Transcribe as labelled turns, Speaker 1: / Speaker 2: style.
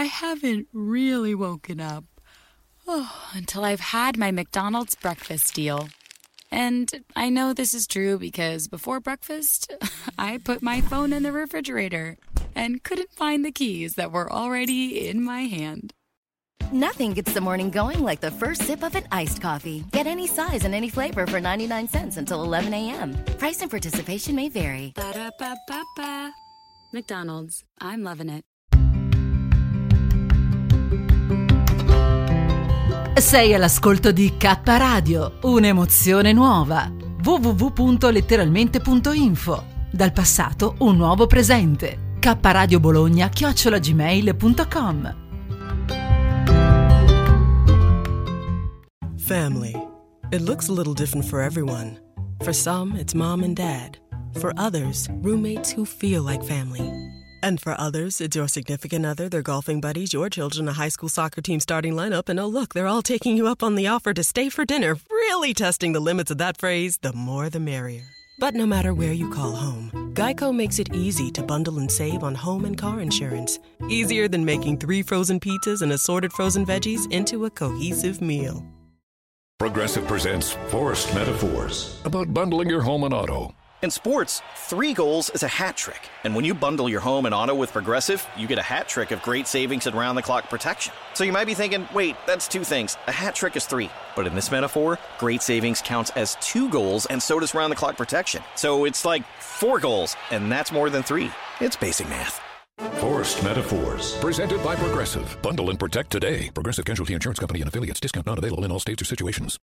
Speaker 1: I haven't really woken up. Until I've had my McDonald's breakfast deal. And I know this is true because before breakfast, I put my phone in the refrigerator and couldn't find the keys that were already in my hand.
Speaker 2: Nothing gets the morning going like the first sip of an iced coffee. Get any size and any flavor for 99 cents until 11 a.m. Price and participation may vary.
Speaker 1: Ba-da-ba-ba-ba. McDonald's. I'm loving it.
Speaker 3: Sei all'ascolto di K Radio, un'emozione nuova. www.letteralmente.info. Dal passato un nuovo presente. kradiobologna@gmail.com.
Speaker 4: Family. It looks a little different for everyone. For some, it's mom and dad. For others, roommates who feel like family. And for others, it's your significant other, their golfing buddies, your children, a high school soccer team starting lineup, and oh look, they're all taking you up on the offer to stay for dinner, really testing the limits of that phrase, the more the merrier. But no matter where you call home, Geico makes it easy to bundle and save on home and car insurance. Easier than making 3 frozen pizzas and assorted frozen veggies into a cohesive meal.
Speaker 5: Progressive presents Forced Metaphors about bundling your home and auto.
Speaker 6: In sports, 3 goals is a hat trick. And when you bundle your home and auto with Progressive, you get a hat trick of great savings and round-the-clock protection. So you might be thinking, wait, that's 2 things. A hat trick is 3. But in this metaphor, great savings counts as 2 goals, and so does round-the-clock protection. So it's like 4 goals, and that's more than 3. It's basic math.
Speaker 5: Forced Metaphors. Presented by Progressive. Bundle and protect today. Progressive Casualty Insurance Company and affiliates. Discount not available in all states or situations.